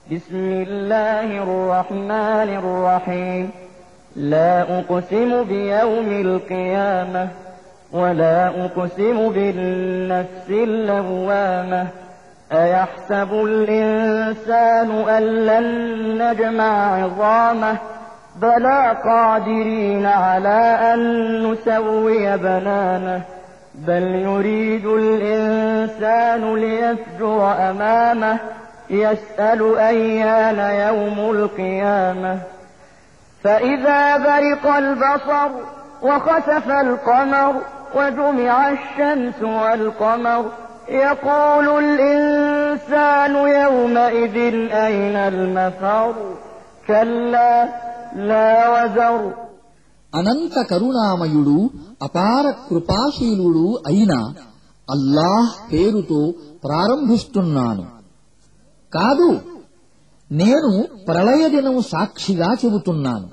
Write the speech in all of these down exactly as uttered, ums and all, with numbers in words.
بسم الله الرحمن الرحيم لا أقسم بيوم القيامة ولا أقسم بالنفس اللوامة أيحسب الإنسان أن لن نجمع عظامه بلى قادرين على أن نسوي بنانه بل يريد الإنسان ليفجر أمامه يسأل أيان يوم القيامة فإذا برق البصر وخسف القمر وجمع الشمس والقمر يقول الإنسان يومئذ أين المفر كلا لا وزر. అనంత కరుణామయుడు అపార కృపాశీలుడు అయిన అల్లాహ్ పేరుతో ప్రారంభిస్తున్నాను. కాదు, నేను ప్రళయ దినం సాక్షిగా చెబుతున్నాను.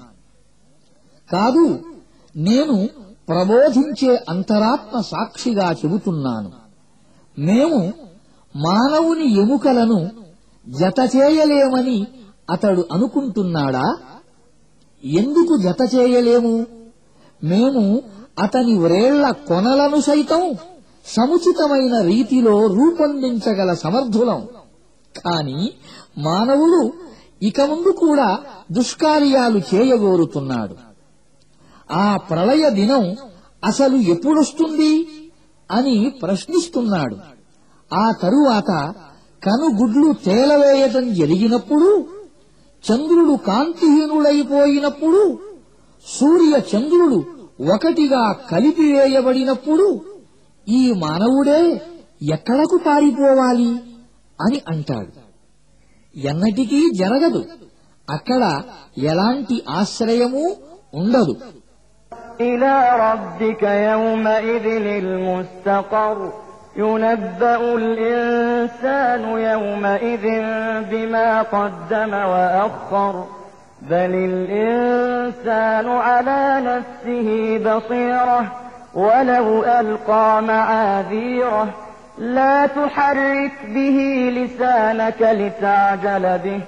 కాదు, నేను ప్రబోధించే అంతరాత్మ సాక్షిగా చెబుతున్నాను. మేము మానవుని ఎముకలను జతచేయలేమని అతడు అనుకుంటున్నాడా? ఎందుకు జతచేయలేము? మేము అతని వ్రేళ్ల కొనలను సైతం సముచితమైన రీతిలో రూపొందించగల సమర్థులం. కాని మానవుడు ఇక ముందు కూడా దుష్కార్యాలు చేయగోరుతున్నాడు. ఆ ప్రళయ దినం అసలు ఎప్పుడొస్తుంది అని ప్రశ్నిస్తున్నాడు. ఆ తరువాత కనుగుడ్లు తేలవేయటం జరిగినప్పుడు, చంద్రుడు కాంతిహీనుడైపోయినప్పుడు, సూర్య చంద్రుడు ఒకటిగా కలిపివేయబడినప్పుడు ఈ మానవుడే ఎక్కడకు పారిపోవాలి అని అంటాడు. ఎన్నటికీ జరగదు. అక్కడ ఎలాంటి ఆశ్రయమూ ఉండదు. إلى ربك يومئذ المستقر ينبأ الإنسان يومئذ بما قدم وأخر بل الإنسان على نفسه بصيرة ولو ألقى معاذيره لا تحرك به لسانك لتعجل به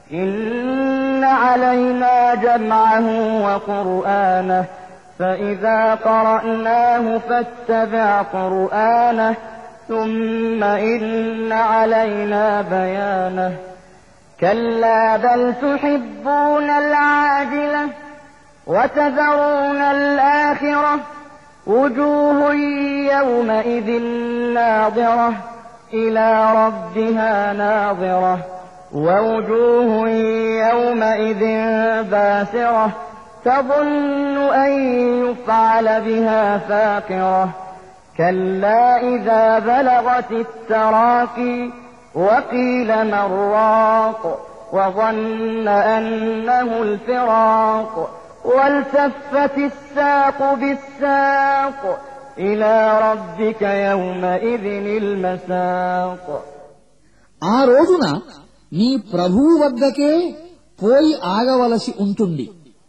إن علينا جمعه وقرآنه فإذا قرأناه فاتبع قرآنه ثم إن علينا بيانه كلا بل تحبون العاجلة وتذرون الآخرة وجوه يومئذ ناظرة إلى ربها ناظرة ووجوه يومئذ باسرة تظن أن يفعل بها فاقرة كلا إذا بلغت التراقي وقيل من راق وظن أنه الفراق والتفت الساق بالساق إلى ربك يومئذ المساق. ఆ రోజున నీ ప్రభువు వద్దకే పోయి ఆగవలసి ఉంటుంది.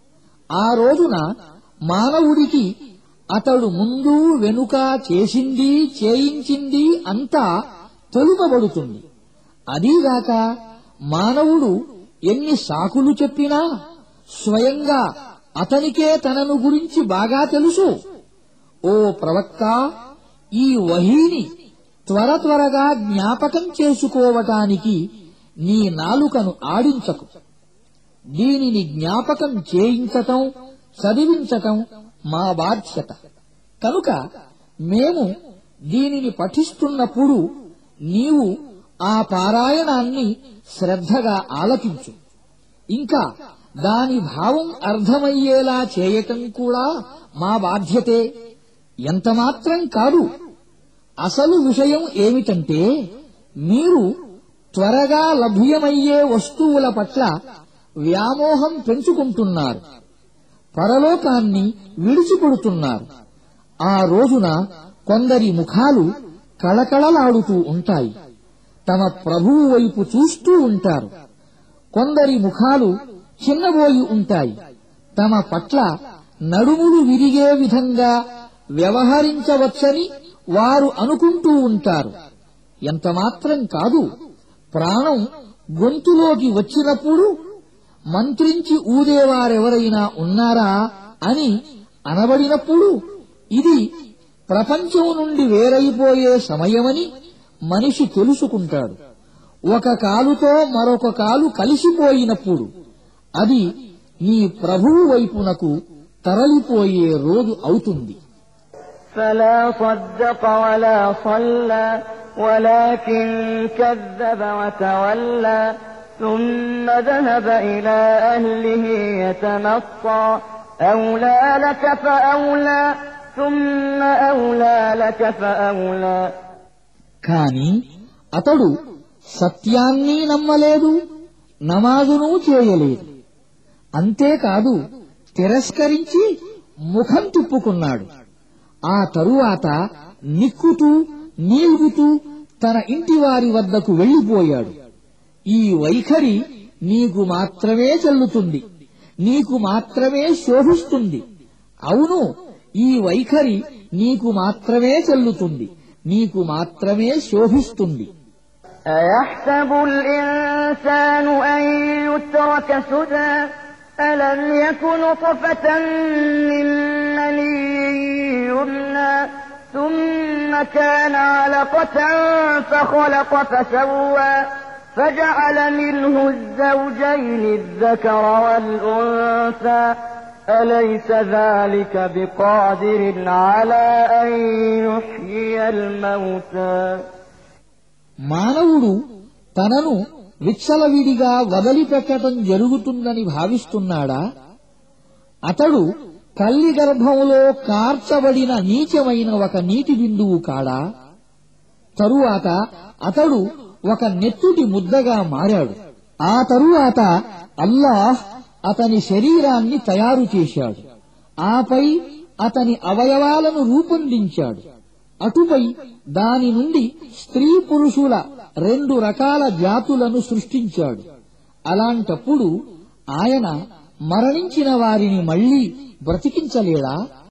ఆ రోజున మానవుడికి అతడు ముందు వెనుక చేసింది చేయించింది అంతా తెలుపబడుతుంది. అదీగాక మానవుడు ఎన్ని సాకులు చెప్పినా స్వయంగా అతనికే తనను గురించి బాగా తెలుసు. ఓ ప్రవక్త, ఈ వహీని త్వర త్వరగా జ్ఞాపకం చేసుకోవటానికి నీ నాలుకను ఆడించకు. దీనిని జ్ఞాపకం చేయించటం, చదివించటం మా బాధ్యత. కనుక మేము దీనిని పఠిస్తున్నప్పుడు నీవు ఆ పారాయణాన్ని శ్రద్ధగా ఆలకించు. ఇంకా దాని భావం అర్థమయ్యేలా చేయటం కూడా మా బాధ్యతే. ఎంతమాత్రం కాదు. అసలు విషయం ఏమిటంటే, మీరు త్వరగా లభ్యమయ్యే వస్తువుల పట్ల వ్యామోహం పెంచుకుంటున్నారు, పరలోకాన్ని విడిచిపెడుతున్నారు. ఆ రోజున కొందరి ముఖాలు కళకళలాడుతూ ఉంటాయి, తమ ప్రభువు వైపు చూస్తూ ఉంటారు. కొందరి ముఖాలు చిన్నబోయి ఉంటాయి, తమ పట్ల నడుములు విరిగే విధంగా వ్యవహరించవచ్చని వారు అనుకుంటూ ఉంటారు. ఎంతమాత్రం కాదు, ప్రాణం గొంతులోకి వచ్చినప్పుడు మంత్రించి ఊదేవారెవరైనా ఉన్నారా అని అనబడినప్పుడు ఇది ప్రపంచం నుండి వేరైపోయే సమయమని మనిషి తెలుసుకుంటాడు. ఒక కాలుతో మరొక కాలు కలిసిపోయినప్పుడు అది నీ ప్రభువు వైపునకు తరలిపోయే రోజు అవుతుంది. فلا صدق ولا صلى ولكن كذب وتولى ثم ذهب إلى أهله يتمطى أولى لك فأولى ثم أولى لك فأولى. కాని అతడు సత్యాన్ని నమ్మలేదు, నమాజును చేయలేదు. అంతేకాదు తిరస్కరించి ముఖం తిప్పుకున్నాడు. ఆ తరువాత నిక్కుతూ నీల్గుతూ తన ఇంటివారి వద్దకు వెళ్లిపోయాడు. ఈ వైఖరి నీకు మాత్రమే చెల్లుతుంది, నీకు మాత్రమే శోభిస్తుంది. అవును, ఈ వైఖరి నీకు మాత్రమే చెల్లుతుంది, నీకు మాత్రమే శోభిస్తుంది. أيحسب الإنسان أن يترك سدى ألم يكن نطفة من مني يمنى ثم كان علقة فخلق فسوى فجعل منه الزوجين الذكر والأنثى أليس ذلك بقادر على أن يحيي الموتى. మానవుడు తనను విచ్చలవిడిగా వదిలిపెట్టడం జరుగుతుందని భావిస్తున్నాడా? అతడు తల్లి గర్భంలో కార్చబడిన నీచమైన ఒక నీటి బిందువు కాడా? తరువాత అతడు ఒక నెత్తుటి ముద్దగా మారాడు. ఆ తరువాత అల్లాహ్ అతని శరీరాన్ని తయారు చేశాడు. ఆపై అతని అవయవాలను రూపొందించాడు. అటుపై దాని నుండి స్త్రీ పురుషుల రెండు రకాల జాతులను సృష్టించాడు. అలాంటప్పుడు ఆయన మరణించిన వారిని మళ్లీ బ్రతికించలేడా?